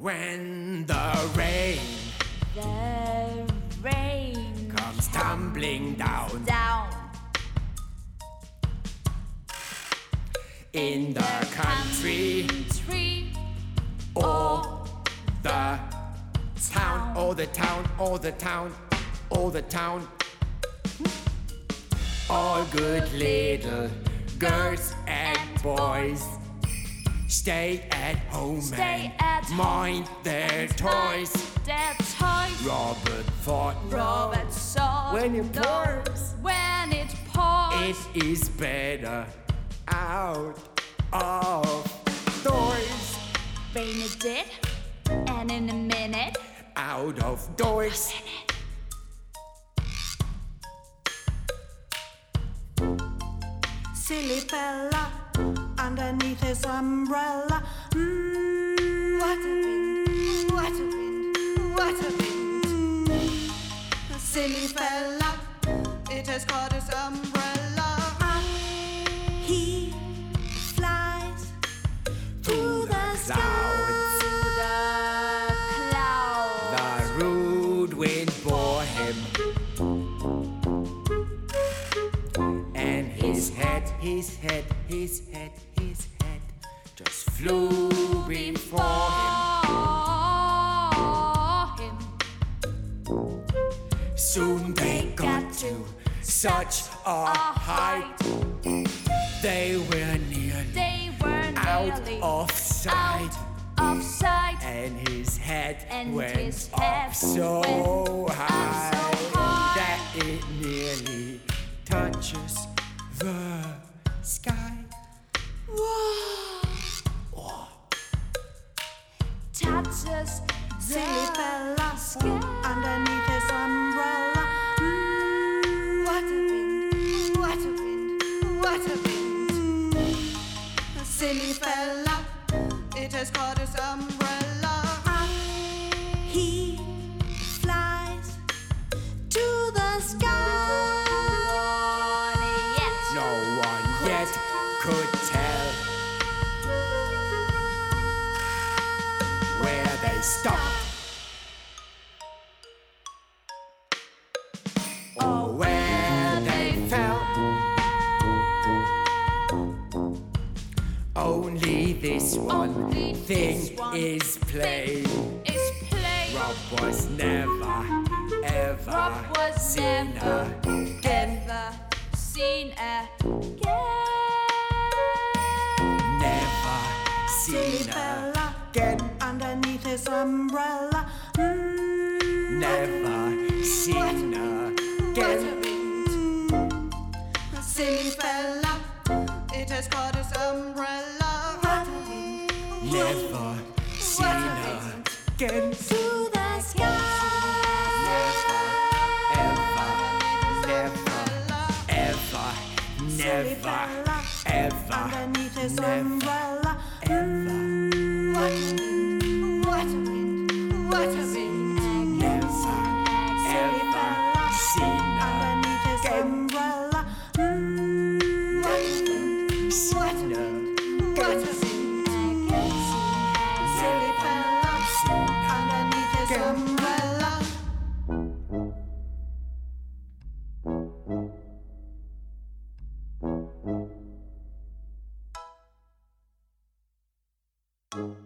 When the rain comes tumbling down in the country or the town, or the town, or the town, or the town. All good little girls and boys stay at home and mind their toys. Robert thought, when it pours, it is better out of doors. Rain it did, and in a minute, out of doors. Silly fella, underneath his umbrella. What a wind, what a wind, what a wind. Silly fella, it has caught his umbrella. He flies through the clouds. The rude wind bore him, and his head just flew before him. Soon they got to such a height, they were nearly out of sight. And his head went up so high that it nearly touches the sky. Whoa. Touches silly fella sky. Underneath his umbrella. What a wind, what a wind, what a wind. Silly fella, it has caught his umbrella. He flies to the sky. No one yet could tell where they stopped or where they fell. Only this one thing is plain. Rob was never, ever seen again. Never Silly seen fella, again. underneath his umbrella. Never seen What a again. wind. Silly fella, it has caught his umbrella. What a wind. Never seen again. To the sky. Silly Never, fella, ever, underneath his never, umbrella. ever. What a wind, what a wind, what a wind. Never, Silly ever fella, seen underneath his again. umbrella. Never What a seen wind, what a wind. Silly fella, underneath his umbrella. again.